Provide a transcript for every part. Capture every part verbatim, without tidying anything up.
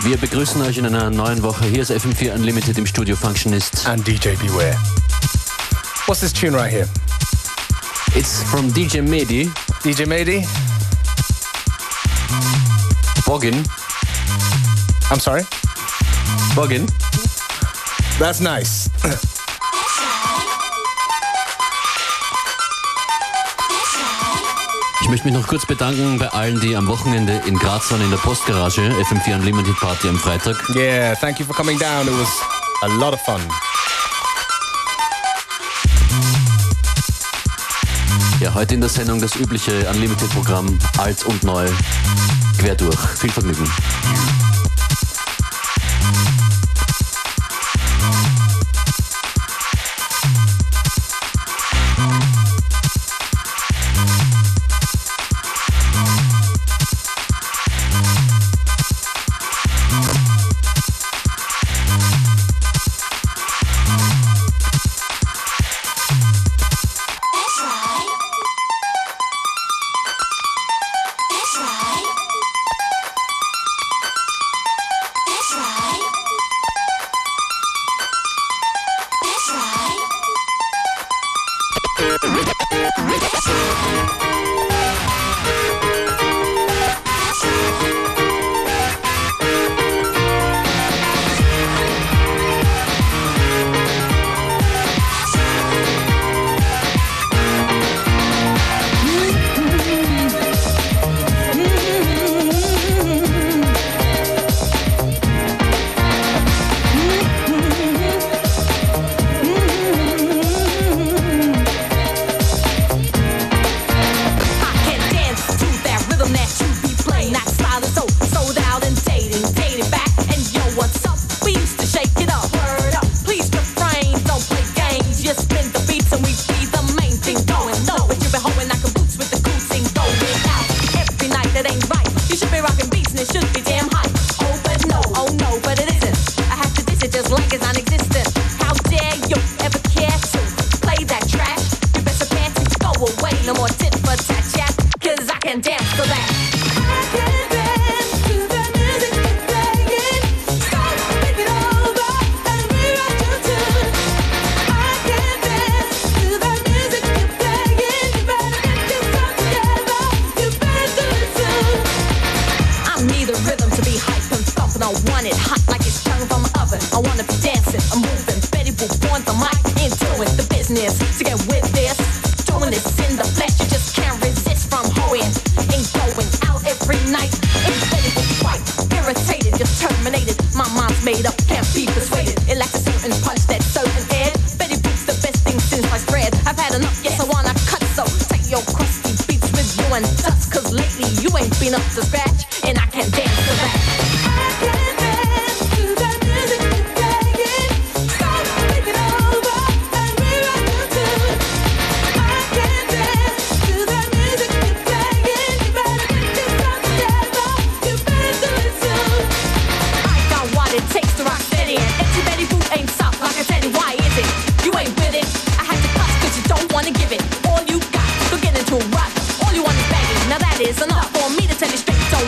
Wir begrüßen euch in einer neuen Woche. Hier ist F M vier Unlimited im Studio Functionist. And D J Beware. What's this tune right here? It's from D J Mehdi. D J Mehdi? Boggin. I'm sorry? Boggin. That's nice. Ich möchte mich noch kurz bedanken bei allen, die am Wochenende in Graz waren in der Postgarage. F M vier Unlimited Party am Freitag. Yeah, thank you for coming down. It was a lot of fun. Ja, heute in der Sendung das übliche Unlimited-Programm, alt und neu, quer durch. Viel Vergnügen. All you want is begging. Now that is enough for me to tell you straight. Don't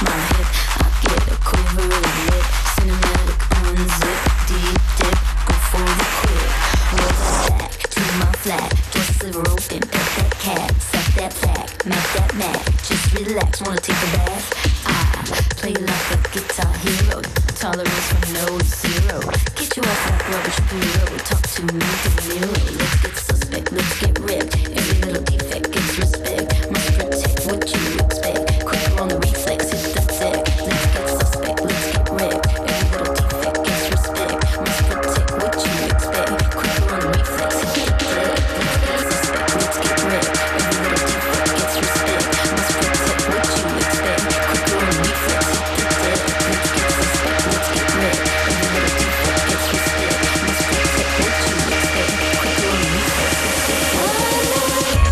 my hip. I get a quiver of lip, cinematic unzip, deep dip, go for the quip. Roll that back to my flat, just sliver open, pet that cat, suck that flat, make that mad. Just relax, wanna take a bath? I play like a guitar hero, tolerance from no to zero. Get you off like rubbish burrito, talk to me, De Niro. Let's get suspect, let's get ripped. Every little defect gets respect. Must protect what you expect. Quicker on the reflex, hit the deck. Let's get suspect, let's get ripped. Every little defect gets respect. Must protect what you expect. Quicker on the reflex, hit the deck. Let's get suspect, let's get ripped. Every little defect gets respect. Must protect what you expect. Quicker on the reflex, hit the deck. Let's get suspect, let's get ripped. Every little defect gets respect. Must protect what you expect. Quicker on the reflex, hit the deck.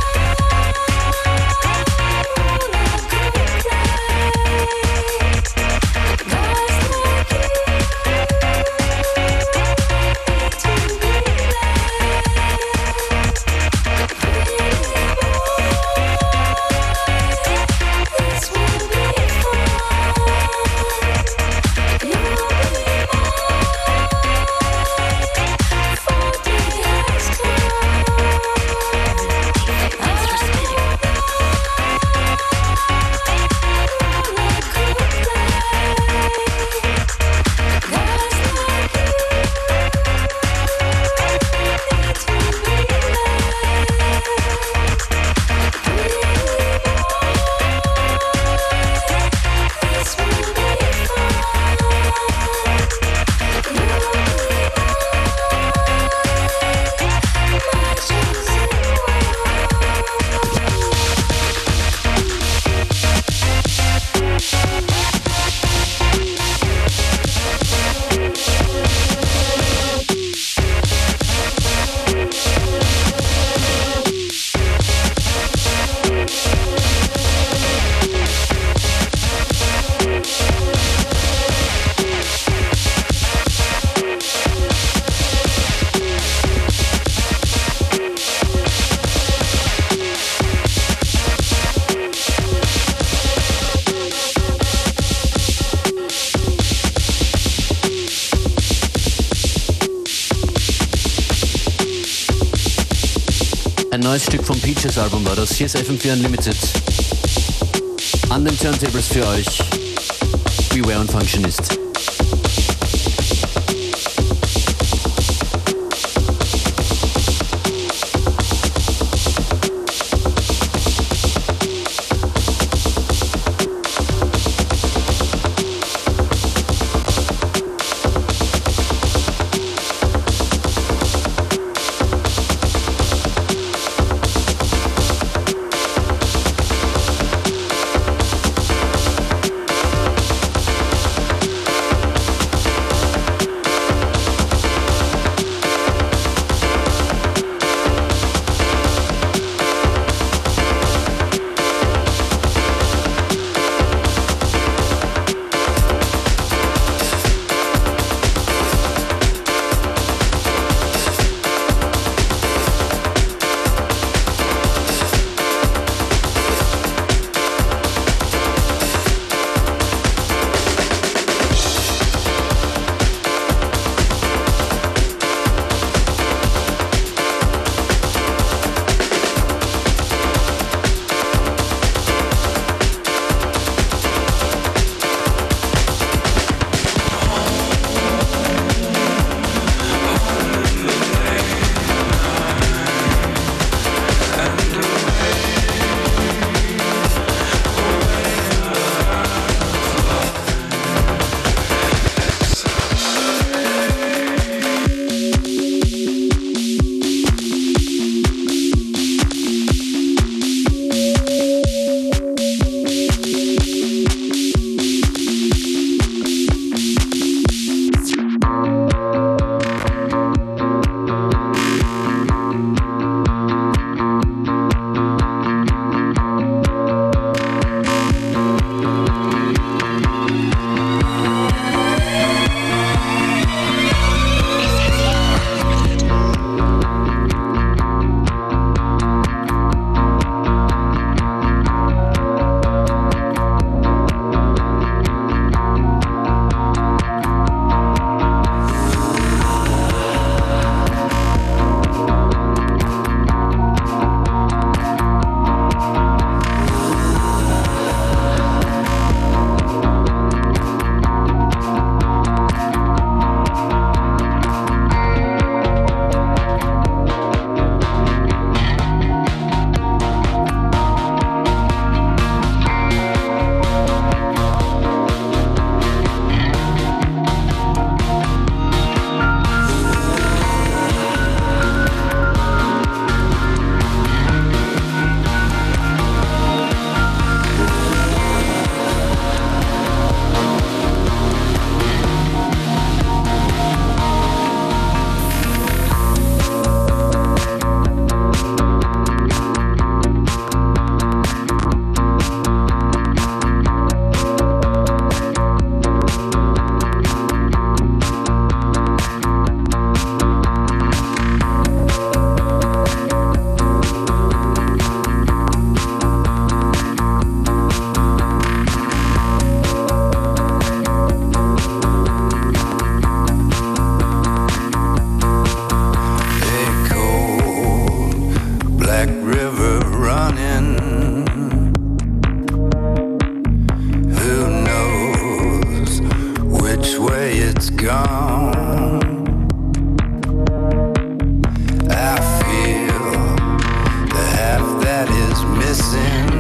Ein neues Stück vom Peaches Album war das. Hier ist F M vier Unlimited. An den Turntables für euch Beware und Functionist. gone. I feel the half that is missing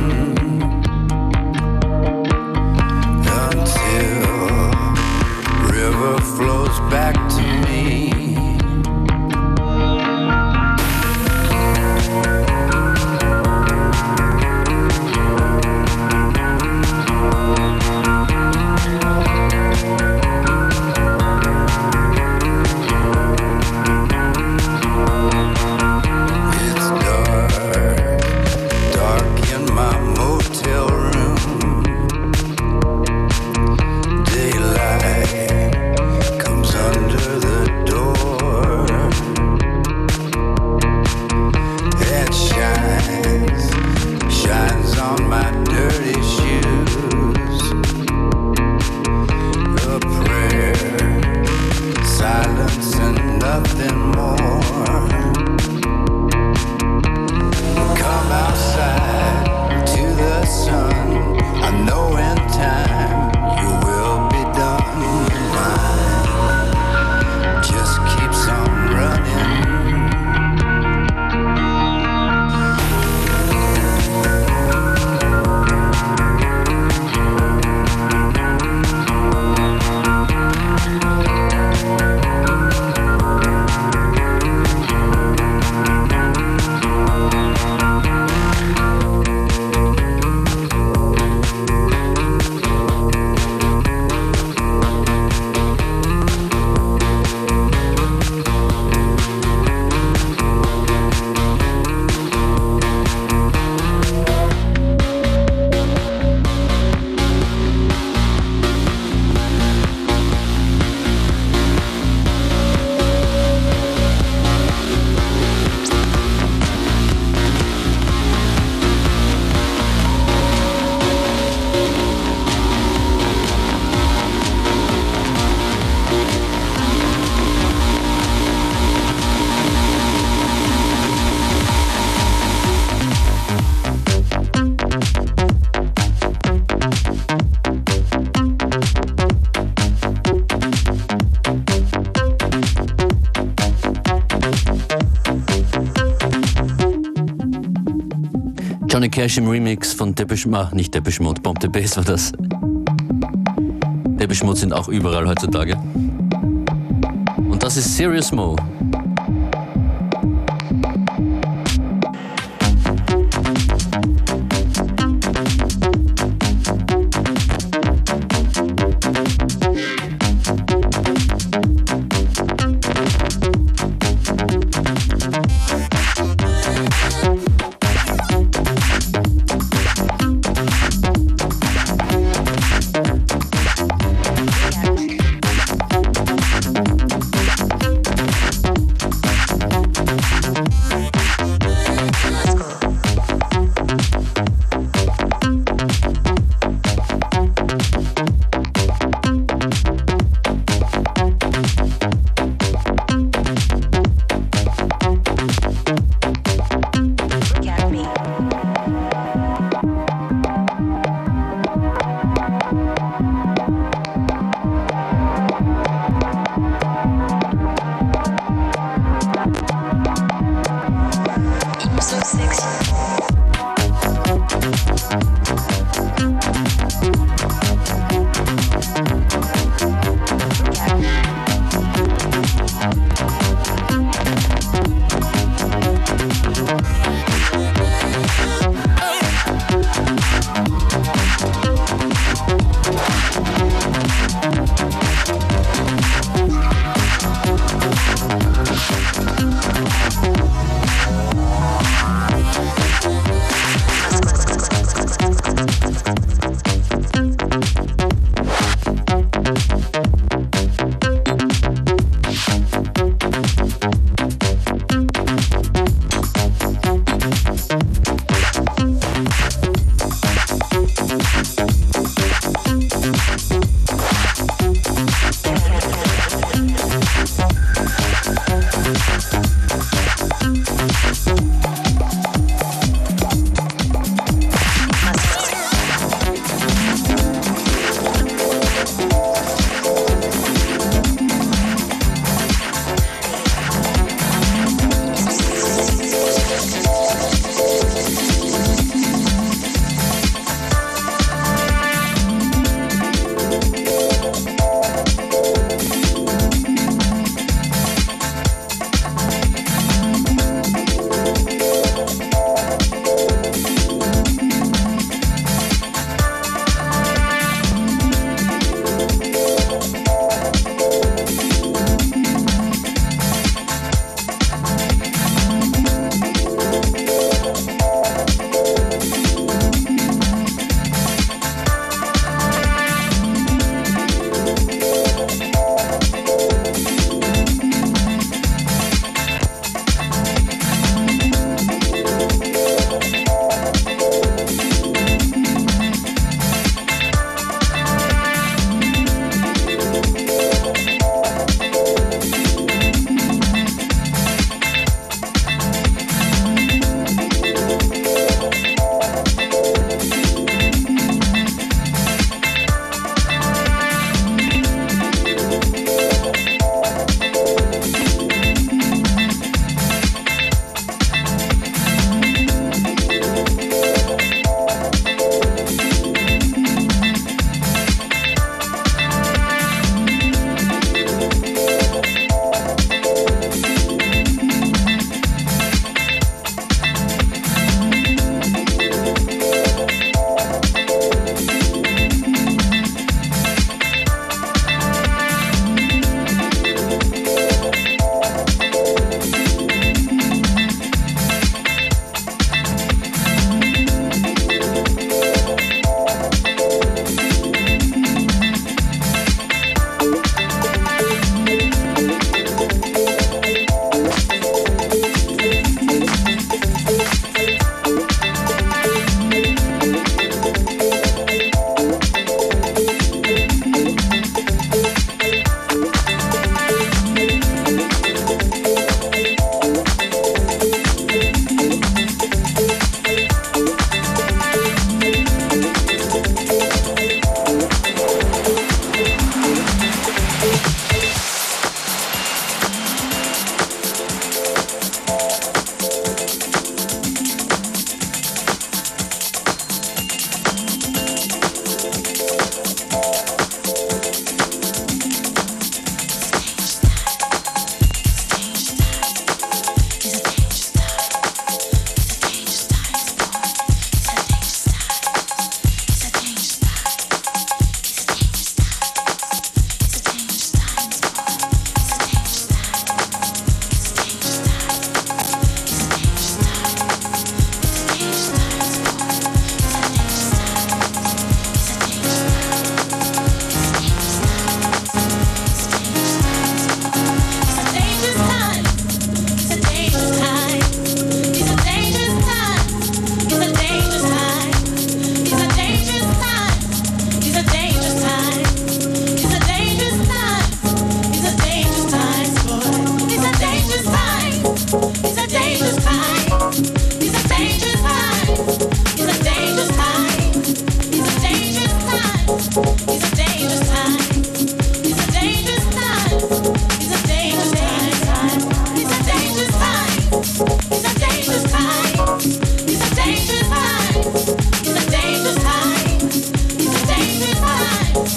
until river flows back to me. Johnny Cash im Remix von Depeche Mode, nicht Depeche Mode, Bomb the Bass war das. Depeche Mode sind auch überall heutzutage. Und das ist Serious Mo.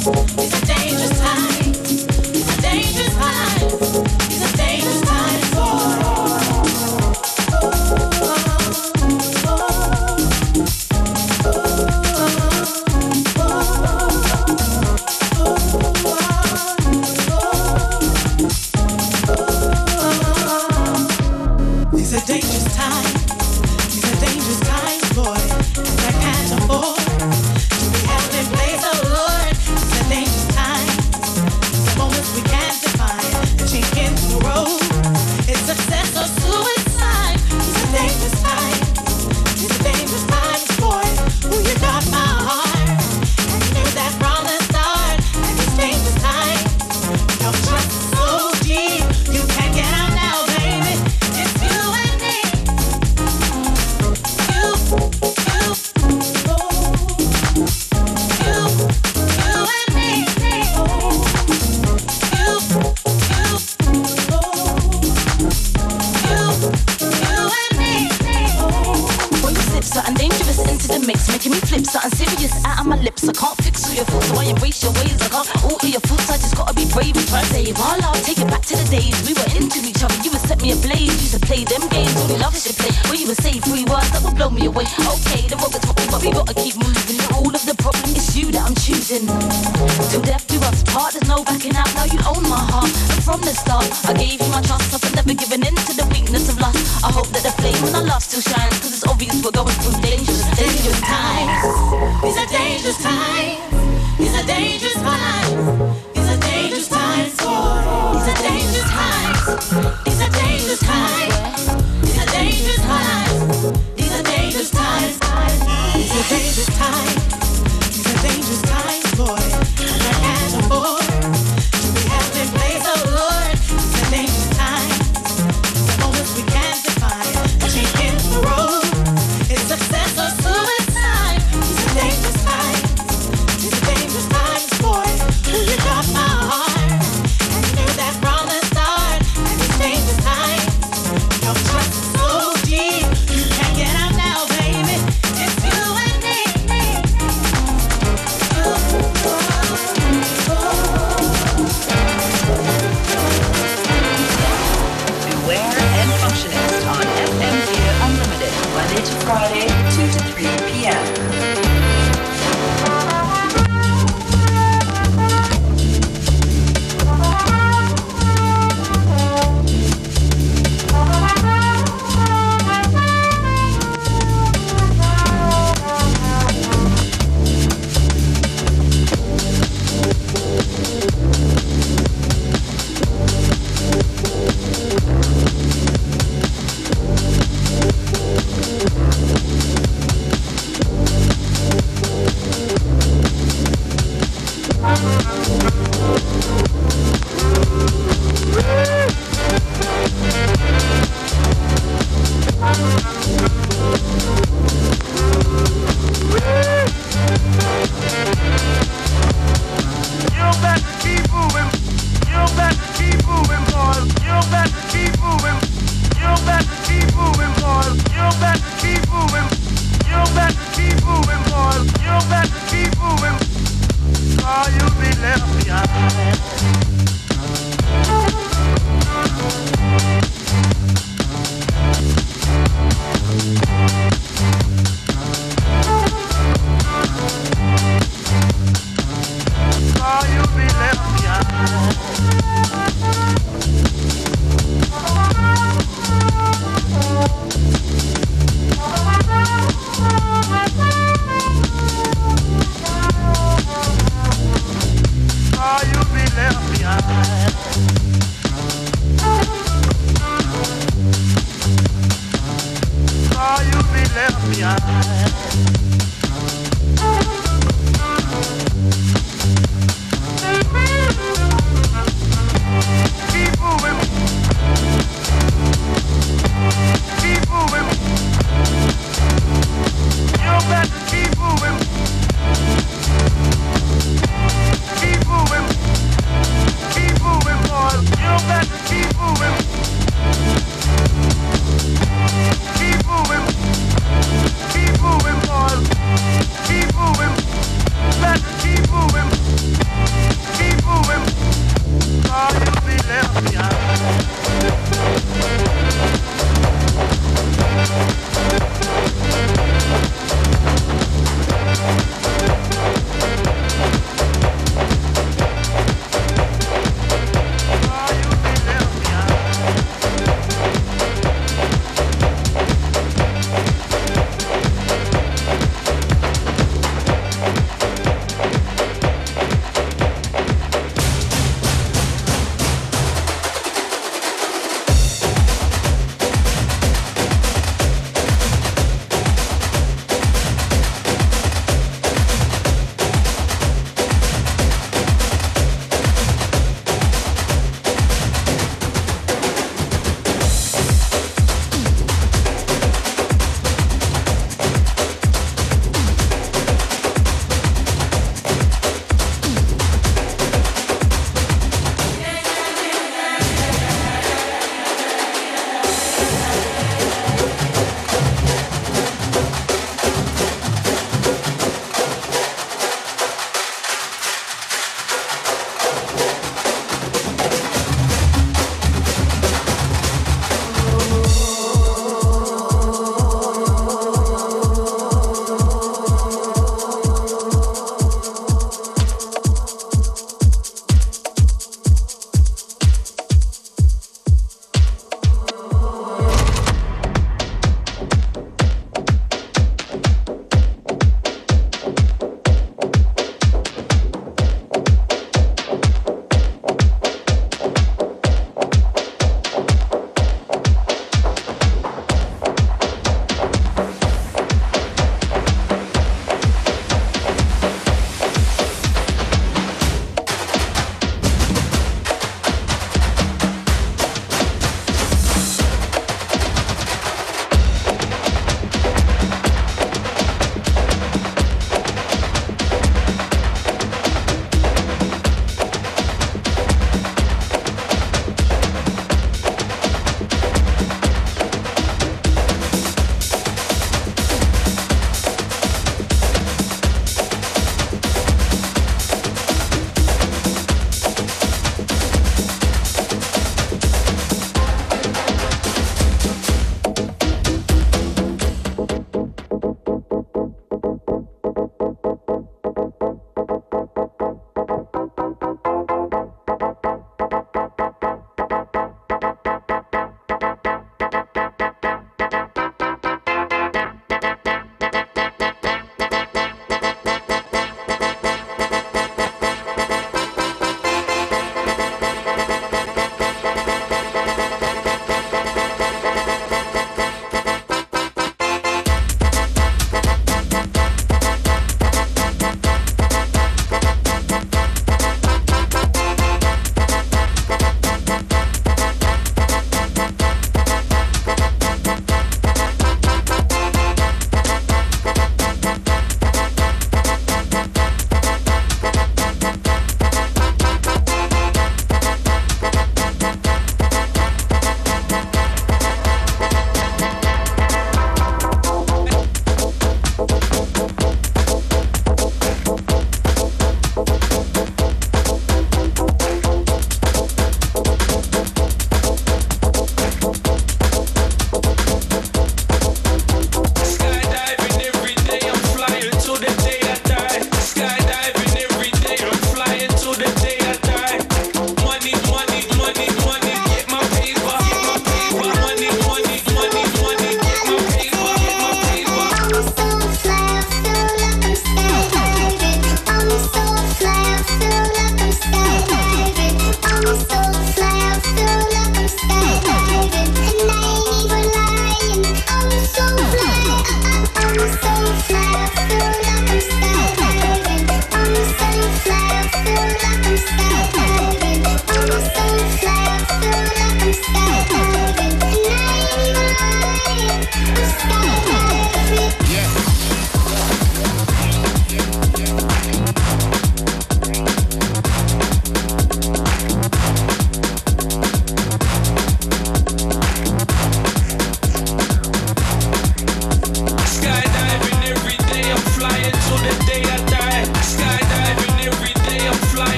Keep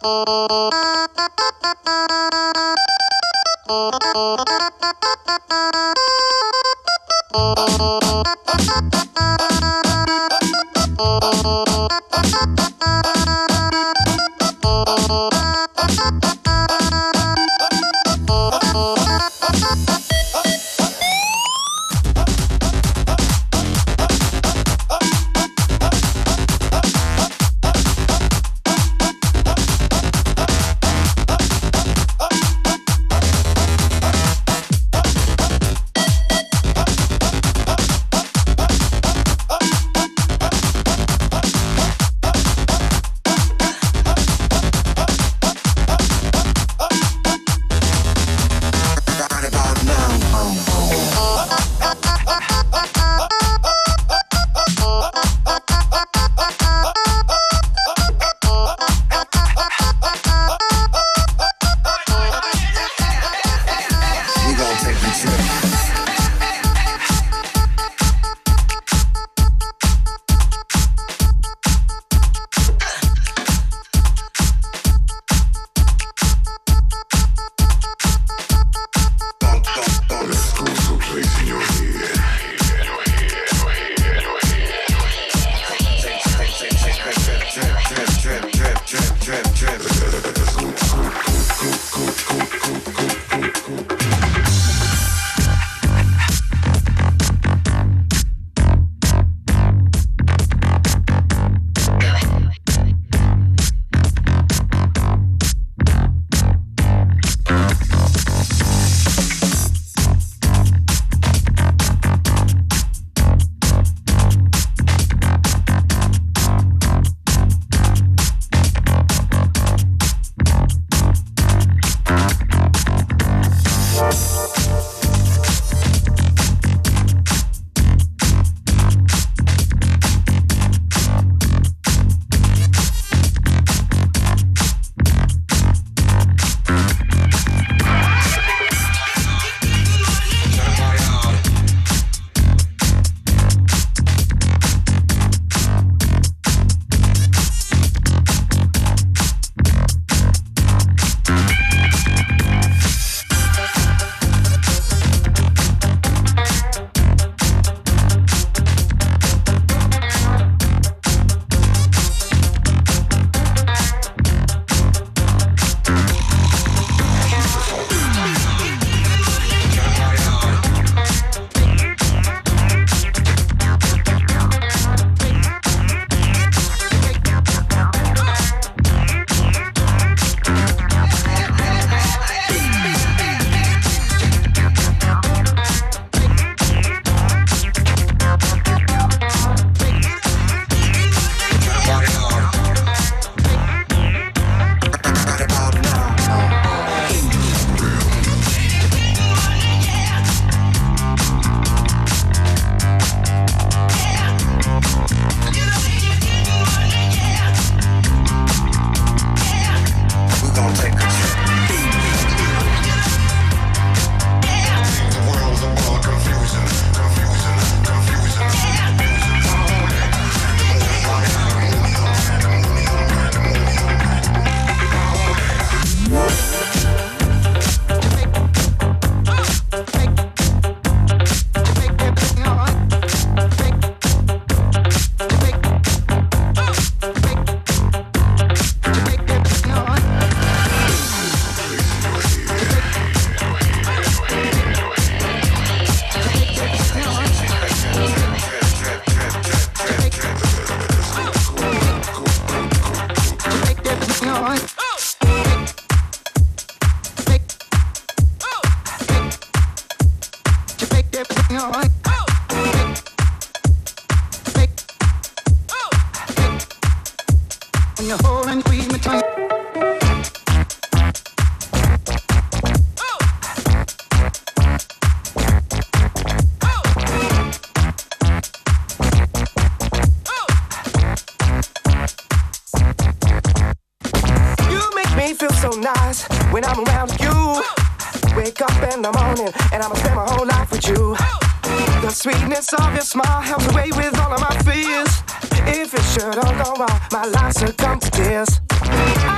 Sweetness of your smile helps away with all of my fears. If it should all go wrong, my life succumb to tears. I've never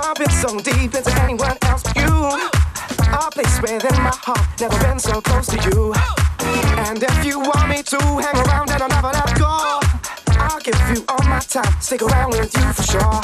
I've been so deep into anyone else but you. A place within my heart, never been so close to you. And if you want me to hang around and I'll never let go, I'll give you all my time, stick around with you for sure.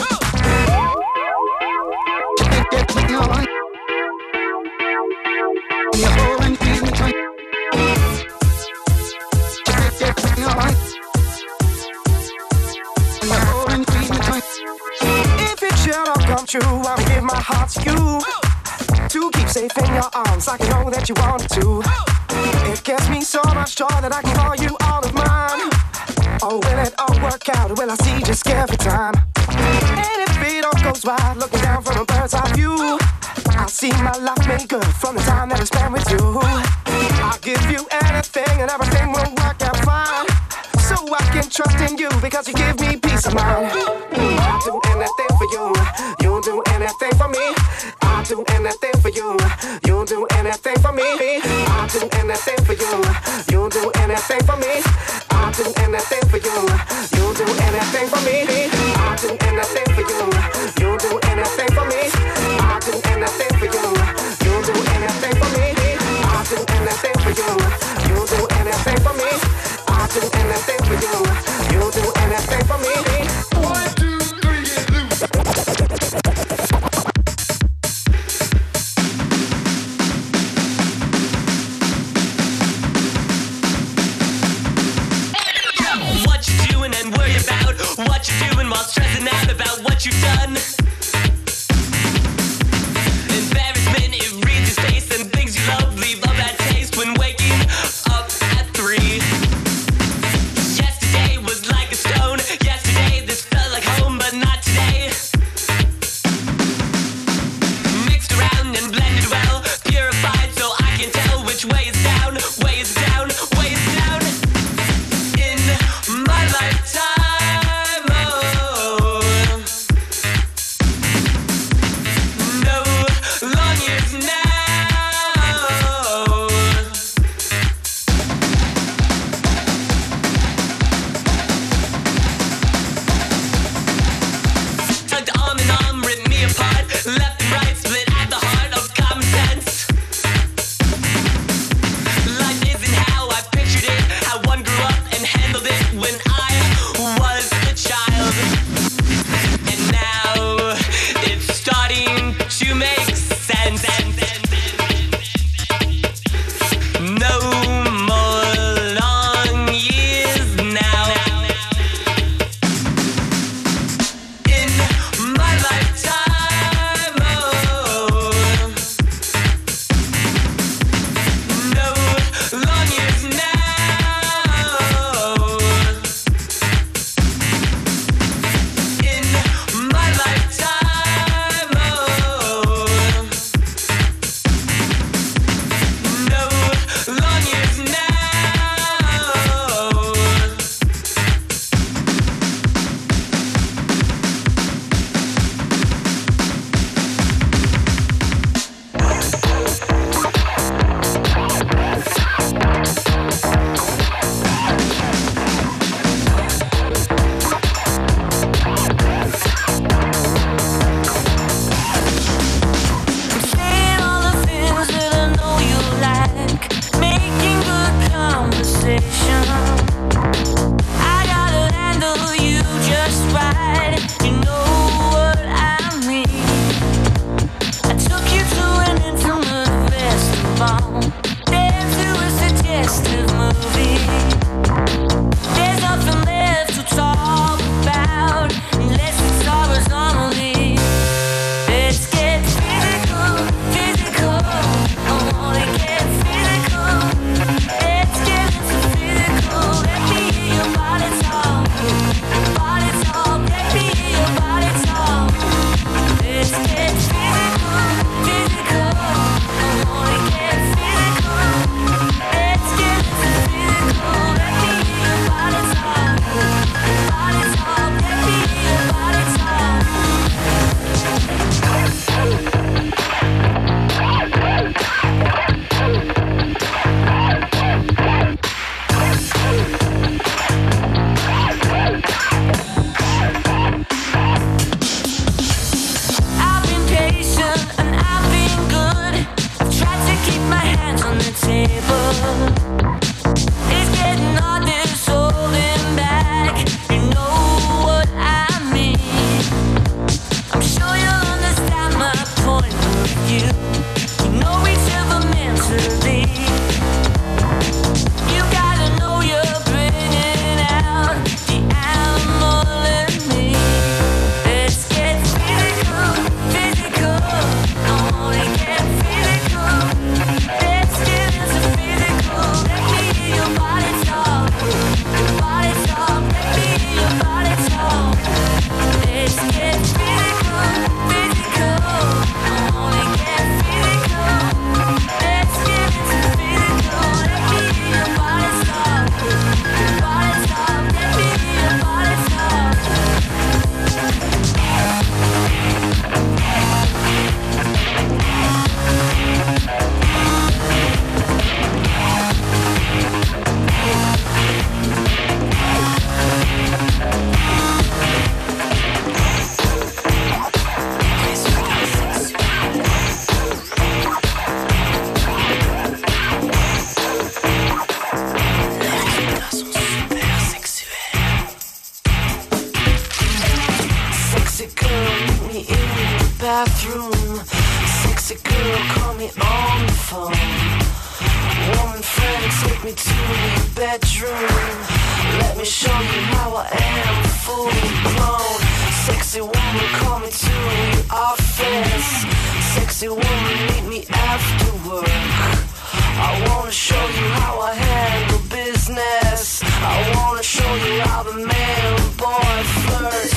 If it should all come true, I'll give my heart to you, to keep safe in your arms like I know that you want it to. It gives me so much joy that I can call you all of mine. Oh, will it all work out, or will I see just every time? And if it all goes right, looking down from a bird's eye view, I'll see my life made good from the time that I spent with you. I'll give you anything and everything will work out fine, so I can trust in you because you give me peace of mind. I'll do anything for you, you'll do anything for me. I'll do anything for you, you'll do anything for me. I'll do anything for you, you'll do anything for me. I'll do anything for you, you'll do anything for me. I'll do anything for you, you'll do anything for me. I'll do anything for you, you'll do anything for me. I'll do anything for you, you'll do anything for me. I'll do anything for you, you'll do anything for me. One, two, three, get loose. What you doing and worry about what you're doing while stressing out about what you've done. Embarrassment, it reads your face, and things you love leave a bad taste when waking up at three. Yesterday was like a stone. Yesterday this felt like home, but not today. Mixed around and blended well, purified so I can tell which way is down, way is down, way is down. In my lifetime, oh, meet me in the bathroom. Sexy girl, call me on the phone. Woman friend, take me to your bedroom. Let me show you how I am, full blown. Sexy woman, call me to your office. Sexy woman, meet me after work. I wanna show you how I handle business. I wanna show you how the man and boy flirts.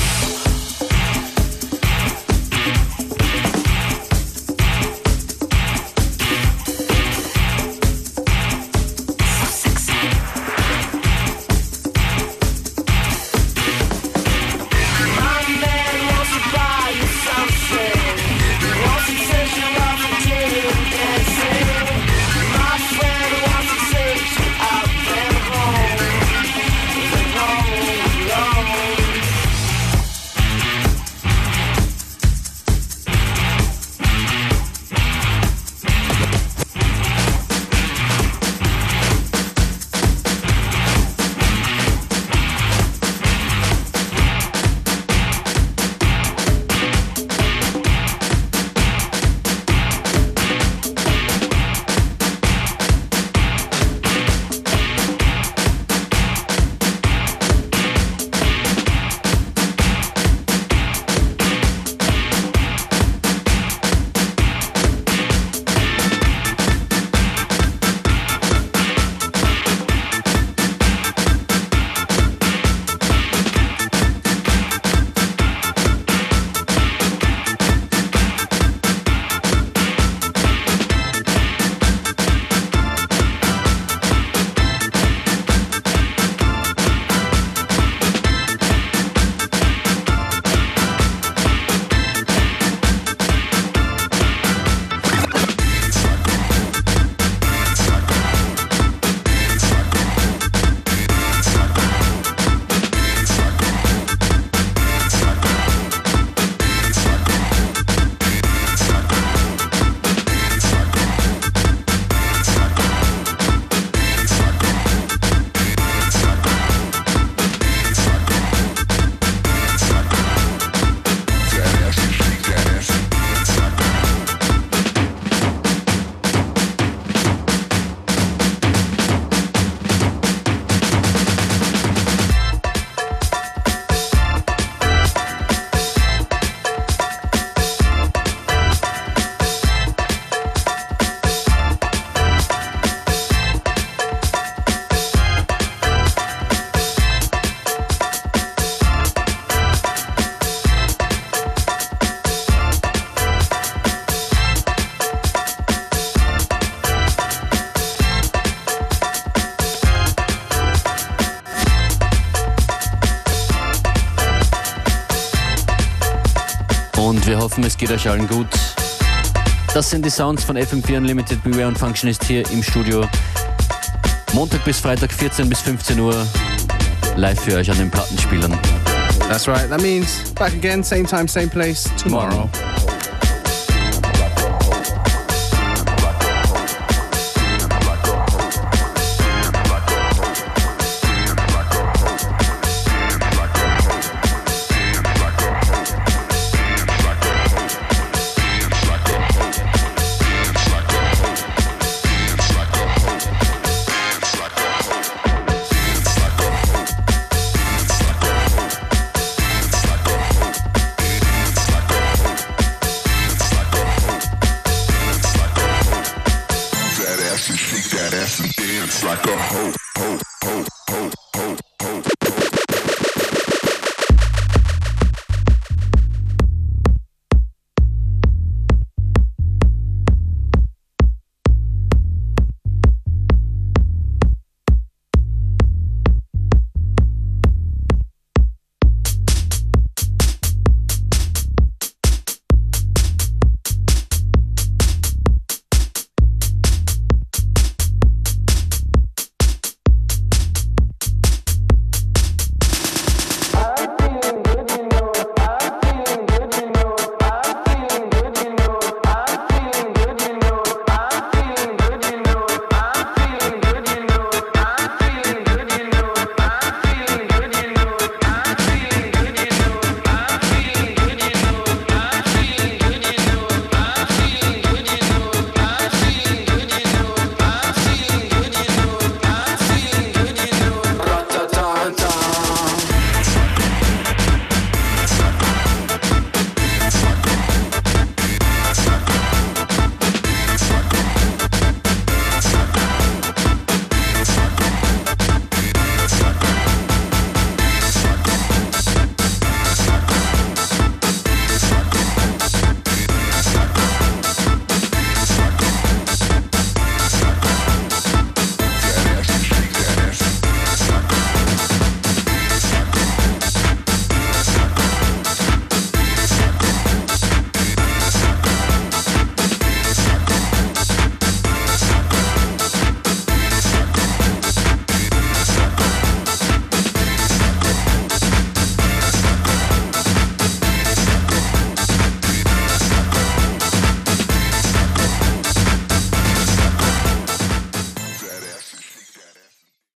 Und wir hoffen, es geht euch allen gut. Das sind die Sounds von F M vier Unlimited. Beware und Functionist hier im Studio. Montag bis Freitag vierzehn bis fünfzehn Uhr. Live für euch an den Plattenspielern. That's right. That means back again, same time, same place, tomorrow. Shake that ass and dance like a hoe.